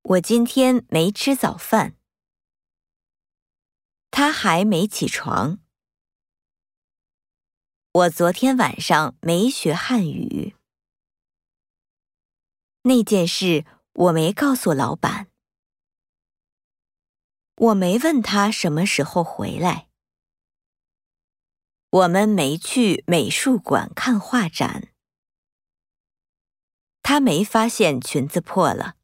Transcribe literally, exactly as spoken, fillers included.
我今天没吃早饭。他还没起床。我昨天晚上没学汉语。那件事我没告诉老板。我没问他什么时候回来。我们没去美术馆看画展。他没发现裙子破了。